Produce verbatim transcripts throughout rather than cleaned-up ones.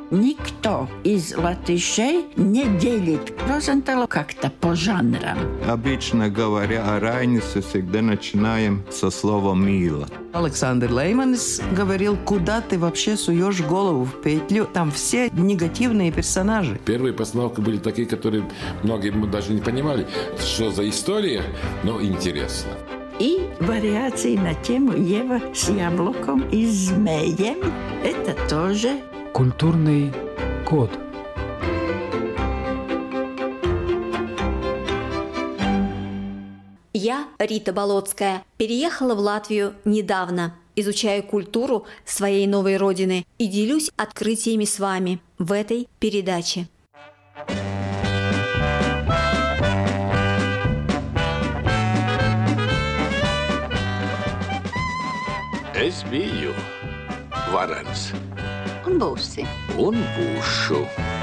Никто из латышей не делит Розенталу как-то по жанрам. Обычно говоря о Райнисе, всегда начинаем со слова «мило». Александр Лейманис говорил, куда ты вообще суешь голову в петлю, там все негативные персонажи. Первые постановки были такие, которые многие даже не понимали, что за история, но интересно. И вариации на тему Ева с яблоком и змеем – это тоже культурный код. Я, Рита Болотская, переехала в Латвию недавно, изучаю культуру своей новой родины и делюсь открытиями с вами в этой передаче. Es biju varens. Un būsi. Un būšu.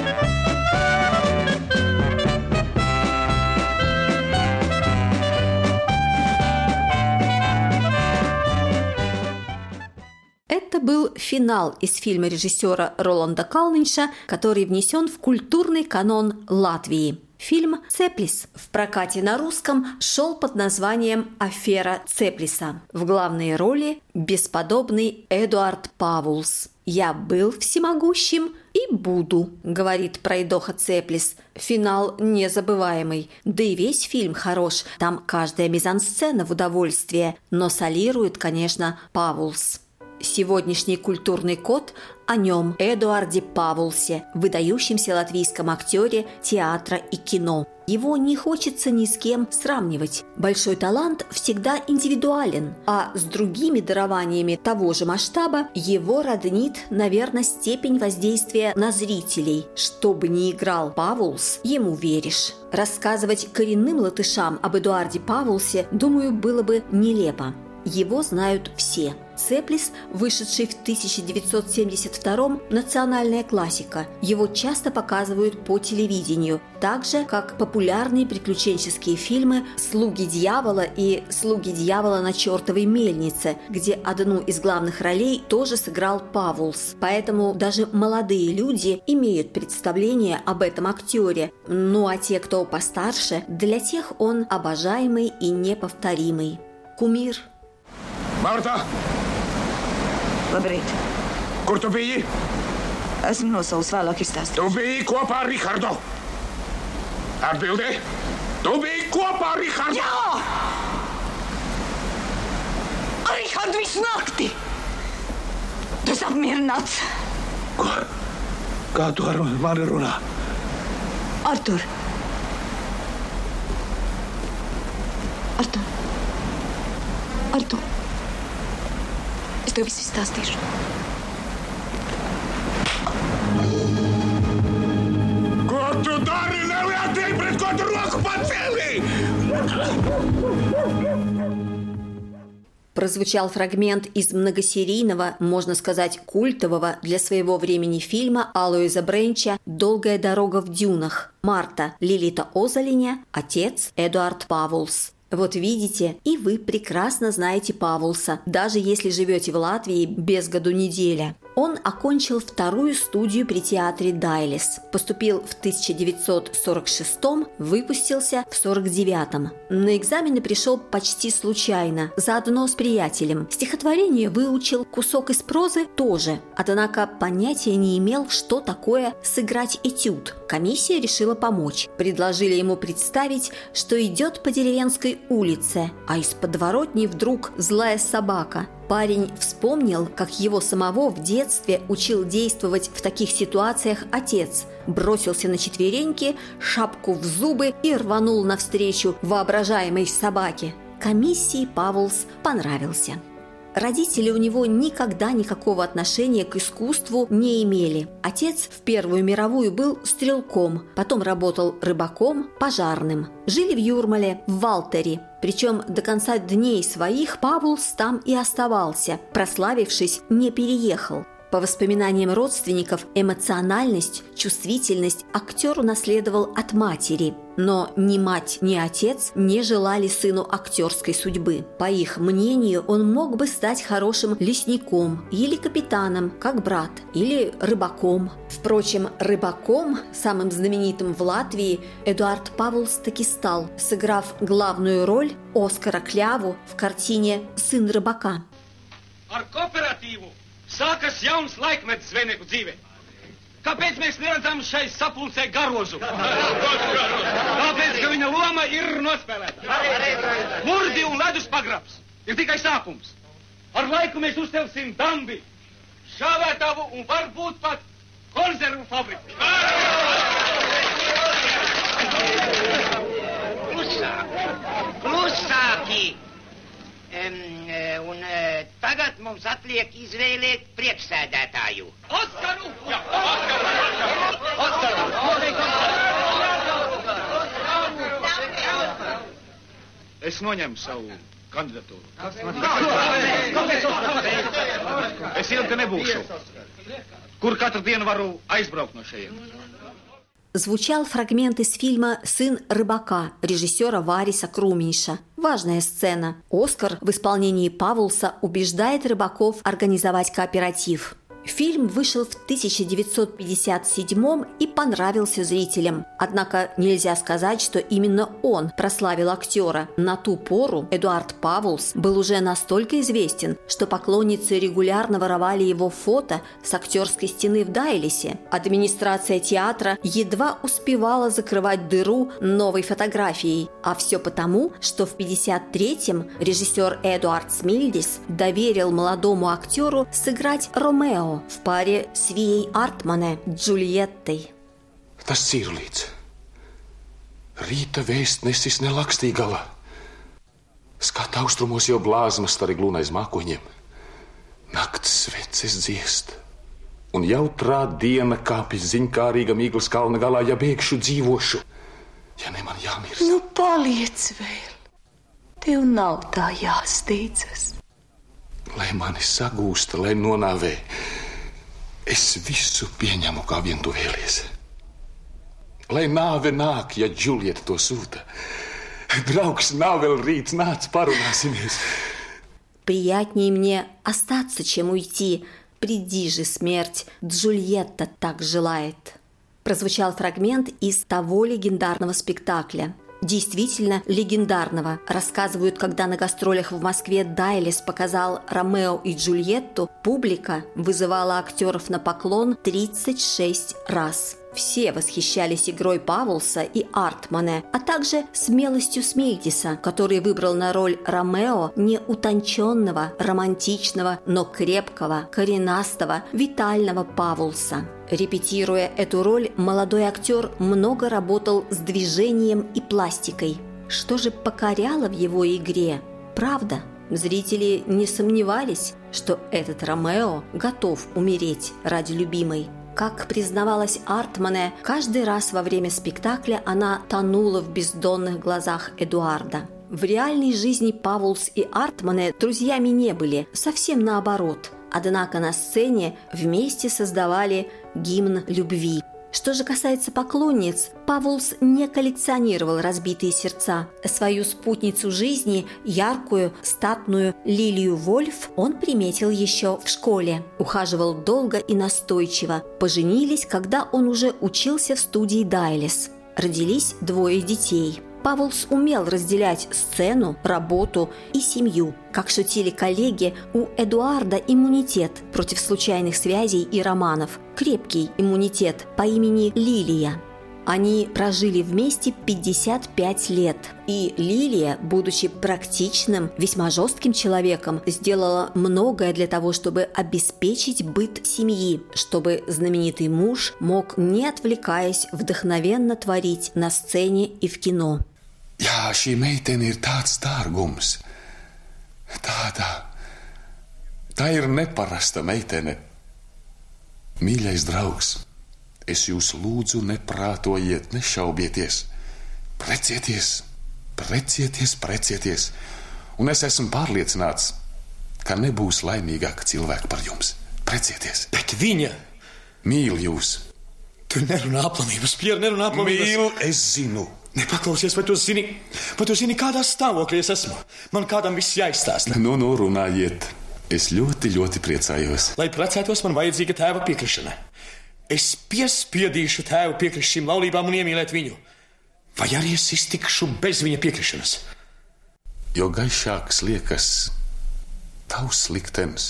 Это был финал из фильма режиссера Роланда Калнинша, который внесен в культурный канон Латвии. Фильм «Цеплис» в прокате на русском шел под названием «Афера Цеплиса». В главной роли бесподобный Эдуард Павулс. «Я был всемогущим и буду», — говорит пройдоха Цеплис. Финал незабываемый. Да и весь фильм хорош. Там каждая мизансцена в удовольствие. Но солирует, конечно, Павулс. Сегодняшний культурный код о нем, Эдуарде Павулсе, выдающемся латвийском актере театра и кино. Его не хочется ни с кем сравнивать. Большой талант всегда индивидуален, а с другими дарованиями того же масштаба его роднит, наверное, степень воздействия на зрителей. Что бы ни играл Павулс, ему веришь. Рассказывать коренным латышам об Эдуарде Павулсе, думаю, было бы нелепо. Его знают все. «Цеплис», вышедший в тысяча девятьсот семьдесят втором, национальная классика. Его часто показывают по телевидению, так же, как популярные приключенческие фильмы «Слуги дьявола» и «Слуги дьявола на чертовой мельнице», где одну из главных ролей тоже сыграл Павулс. Поэтому даже молодые люди имеют представление об этом актере. Ну а те, кто постарше, для тех он обожаемый и неповторимый. Кумир. Marta! Labrīt. Kur tu biji? Esmu nosaucis, vēlāk izstāstīšu. Tu biji kopā ar Rihardu. Atbildi. Tu biji kopā ar Rihardu. Jā! Ar Rihardu visu nakti. Tu esi apmierināts. Ko? Kā tu ar mani runā? Artur. Artur. Artur. Es tev visu izstāstīšu. Ko tu dari? Nevietīgi, pret ko tu roku pacēlī? Прозвучал фрагмент из многосерийного, можно сказать, культового для своего времени фильма Алоиза Бренча «Долгая дорога в дюнах». Марта Лилита Озолиня, отец Эдуард Павулс. Вот видите, и вы прекрасно знаете Павулса, даже если живете в Латвии без году неделя. Он окончил вторую студию при театре Дайлис, поступил в тысяча девятьсот сорок шестом, выпустился в сорок девятом. На экзамены пришел почти случайно, заодно с приятелем. Стихотворение выучил, кусок из прозы тоже, однако понятия не имел, что такое сыграть этюд. Комиссия решила помочь. Предложили ему представить, что идет по деревенской улице, а из подворотни вдруг злая собака. Парень вспомнил, как его самого в детстве учил действовать в таких ситуациях отец. Бросился на четвереньки, шапку в зубы и рванул навстречу воображаемой собаке. Комиссии Павулс понравился. Родители у него никогда никакого отношения к искусству не имели. Отец в Первую мировую был стрелком, потом работал рыбаком, пожарным. Жили в Юрмале, в Валтере. Причем до конца дней своих Павулс там и оставался, прославившись, не переехал. По воспоминаниям родственников, эмоциональность, чувствительность актер унаследовал от матери. Но ни мать, ни отец не желали сыну актерской судьбы. По их мнению, он мог бы стать хорошим лесником или капитаном, как брат, или рыбаком. Впрочем, рыбаком, самым знаменитым в Латвии, Эдуард Павлс таки стал, сыграв главную роль Оскара Кļavu в картине «Сын рыбака». Ar kooperatīvu sākas jauns laikmets zvejnieku dzīvē. Kāpēc mēs neredzam šai sapulcē garozu? Tāpēc, ka viņa loma ir nospēlēta. Murdi un ledus pagrabs ir tikai sākums. Ar laiku mēs uztelsim dambi, šāvētavu un varbūt pat konzervu fabriku. Klusāk, klusāki! Um, un uh, tagad mums atliek izvēlēt priekšsēdētāju. Oskaru! Jā, Oskaru! Oskaru! Es noņemu savu kandidatūru. Es ilgi nebūšu. Kur katru dienu varu aizbraukt no šejienes. Звучал фрагмент из фильма «Сын рыбака» режиссера Вариса Круминша. Важная сцена. Оскар в исполнении Павлса убеждает рыбаков организовать кооператив. Фильм вышел в тысяча девятьсот пятьдесят седьмом и понравился зрителям. Однако нельзя сказать, что именно он прославил актера. На ту пору Эдуард Павлс был уже настолько известен, что поклонницы регулярно воровали его фото с актерской стены в Дайлисе. Администрация театра едва успевала закрывать дыру новой фотографией. А все потому, что в пятьдесят третьем режиссер Эдуард Смильдис доверил молодому актеру сыграть Ромео в паре с Vijai Artmane Džuljettai. Tas Cirlīts. Rīta vēstnesis nelakstī galā. Skata austrumos jau blāzmas stari glūnais mākoņiem. Nakts sveces dziest. Un jautrā diena kāpjas ziņkārīgam Īglas kalna galā, ja bēgšu dzīvošu. Ja ne man jāmirst. Nu, paliec vēl. Tev nav tā jāsteidzas. Lai mani sagūsta, lai nonāvē, es visu pieņemu, kā vien tu vēlies. Lai nāve nāk, ja Džuljeta to sūta. Draugs, nav vēl rīts, nāc, parunāsimies. Приятнее мне остаться, чем уйти. Приди же, смерть, Джульетта так желает. Прозвучал фрагмент из того легендарного спектакля. Действительно легендарного. Рассказывают, когда на гастролях в Москве Дайлис показал Ромео и Джульетту, публика вызывала актеров на поклон тридцать шесть раз. Все восхищались игрой Павлса и Артмане, а также смелостью Смильдиса, который выбрал на роль Ромео не утонченного, романтичного, но крепкого, коренастого, витального Павлса. Репетируя эту роль, молодой актер много работал с движением и пластикой. Что же покоряло в его игре? Правда, зрители не сомневались, что этот Ромео готов умереть ради любимой. Как признавалась Артмане, каждый раз во время спектакля она тонула в бездонных глазах Эдуарда. В реальной жизни Павлс и Артмане друзьями не были, совсем наоборот. Однако на сцене вместе создавали гимн любви. Что же касается поклонниц, Павлс не коллекционировал разбитые сердца. Свою спутницу жизни, яркую, статную Лилию Вольф, он приметил еще в школе. Ухаживал долго и настойчиво. Поженились, когда он уже учился в студии Дайлис. Родились двое детей. Павлс умел разделять сцену, работу и семью. Как шутили коллеги, у Эдуарда иммунитет против случайных связей и романов. Крепкий иммунитет по имени Лилия. Они прожили вместе пятьдесят пять лет. И Лилия, будучи практичным, весьма жестким человеком, сделала многое для того, чтобы обеспечить быт семьи, чтобы знаменитый муж мог, не отвлекаясь, вдохновенно творить на сцене и в кино. Jā, šī meitene ir tāds dārgums. Tāda. Tā ir neparasta meitene. Mīļais draugs, es jūs lūdzu neprātojiet, nešaubieties. Precieties, precieties, precieties. Un es esmu pārliecināts, ka nebūs laimīgāka cilvēka par jums. precieties. Bet viņa Mīl jūs. Tu nerunā aplamības, Pjer, nerunā aplamības. Mīl, es zinu. Nepaklausies, vai tu zini, vai tu zini, kādā stāvoklī es esmu? Man kādam viss jāizstāsta. Nu, nu, runājiet. Es ļoti, ļoti priecājos. Lai precētos, man vajadzīga tēva piekrišana. Es piespiedīšu tēvu piekrist šīm laulībām un iemīlēt viņu. Vai arī es iztikšu bez viņa piekrišanas? Jo gaišāks liekas tavs liktenis,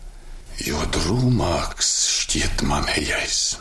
jo drūmāks šķiet manējais.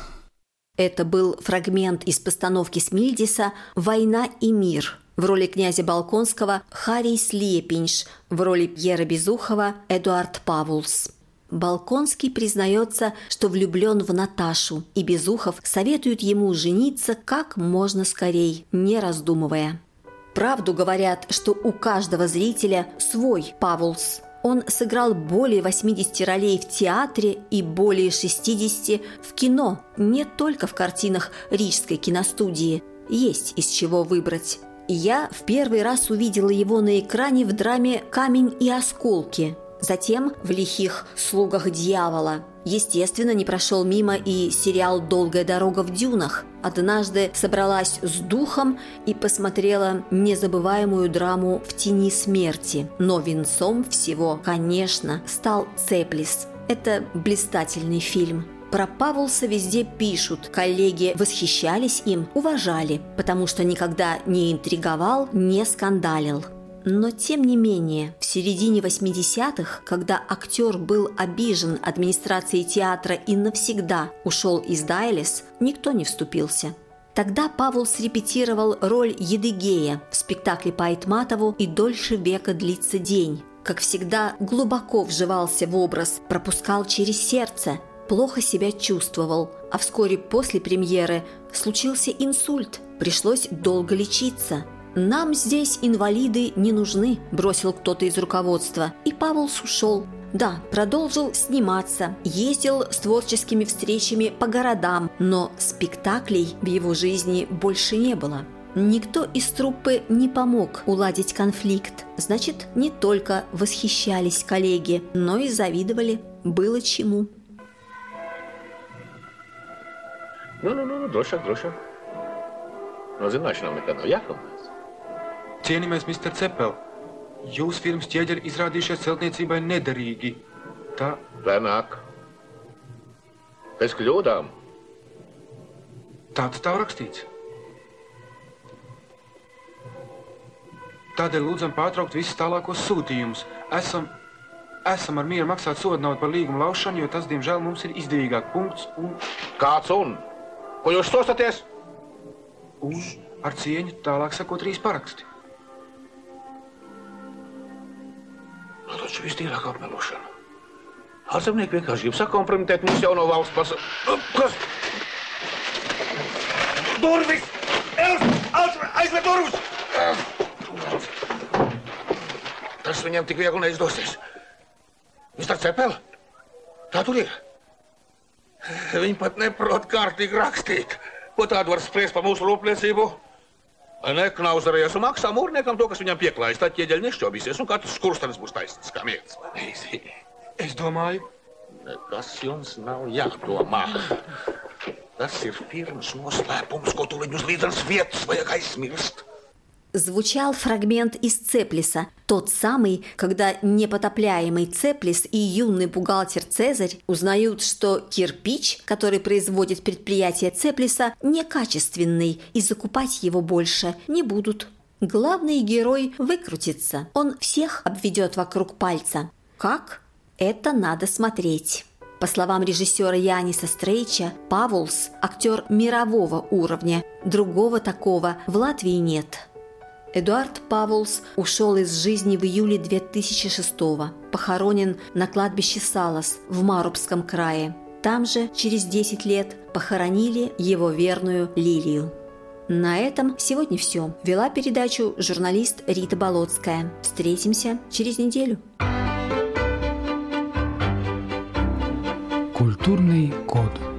Это был фрагмент из постановки Смильдиса «Война и мир». В роли князя Болконского Харис Лепинш, в роли Пьера Безухова Эдуард Павулс. Болконский признается, что влюблен в Наташу, и Безухов советует ему жениться как можно скорей, не раздумывая. Правду говорят, что у каждого зрителя свой Павулс. Он сыграл более восьмидесяти ролей в театре и более шестидесяти в кино, не только в картинах Рижской киностудии. Есть из чего выбрать. Я в первый раз увидела его на экране в драме «Камень и осколки», затем в «Лихих слугах дьявола». Естественно, не прошел мимо и сериал «Долгая дорога в дюнах». Однажды собралась с духом и посмотрела незабываемую драму «В тени смерти». Но венцом всего, конечно, стал «Цеплис». Это блистательный фильм. Про Павулса везде пишут, коллеги восхищались им, уважали, потому что никогда не интриговал, не скандалил. Но, тем не менее, в середине восьмидесятых, когда актер был обижен администрацией театра и навсегда ушел из Дайлес, никто не вступился. Тогда Павулс репетировал роль Едыгея в спектакле по Айтматову «И дольше века длится день». Как всегда, глубоко вживался в образ, пропускал через сердце, плохо себя чувствовал, а вскоре после премьеры случился инсульт, пришлось долго лечиться. «Нам здесь инвалиды не нужны», – бросил кто-то из руководства, и Павулс ушел. Да, продолжил сниматься, ездил с творческими встречами по городам, но спектаклей в его жизни больше не было. Никто из труппы не помог уладить конфликт. Значит, не только восхищались коллеги, но и завидовали. Было чему. Nu, nu, nu, drošāk, drošāk. No zināšanām nekad nav jākaunās. Cienījamies, mister Cepel, jūs firmas ķieģeri izrādījušies celtniecībai nederīgi. Tā... Lēnāk. Pēc kļūdām. Tāds tā rakstīts. Tādēļ lūdzam pārtraukt visus tālākos sūtījumus. Esam, esam ar mieru maksāt sodu naudu par līgumu laušanu, jo tas, diemžēl, mums ir izdevīgāk punkts un... Kāds un? Ko jūs stostaties? Un ar cieņu tālāk sakot trīs paraksti. Nu, taču vistīrāk apmelošana. Ārzemnieki vienkārši grib sakompromitēt mūsu jauno valsts pasa... Kas? Durvis! Els! Aizver durvis! Tas viņam tik viegli neizdosies. mister Cepel, tā tur ir. Viņi pat neprot kārtīgi rakstīt. Ko tādu var spriest par mūsu rūpniecību? Neknauzarējies un maksā mūrniekam to, kas viņam pieklājas. Tad ķieģeļi nešķobīsies un katrs skurstenis būs taisnīgs kā miegs. Es domāju... Nekas jums nav jādomā. Tas ir firmas noslēpums, ko tu viņus līdzenas vietas vajag aizmirst. Звучал фрагмент из «Цеплиса», тот самый, когда непотопляемый Цеплис и юный бухгалтер Цезарь узнают, что кирпич, который производит предприятие Цеплиса, некачественный, и закупать его больше не будут. Главный герой выкрутится, он всех обведет вокруг пальца. Как? Это надо смотреть. По словам режиссера Яниса Стрейча, Павулс – актер мирового уровня, другого такого в Латвии нет. Эдуард Павулс ушел из жизни в июле две тысячи шестого, похоронен на кладбище Салас в Марубском крае. Там же через десять лет похоронили его верную Лилию. На этом сегодня все. Вела передачу журналист Рита Болотская. Встретимся через неделю. Культурный код.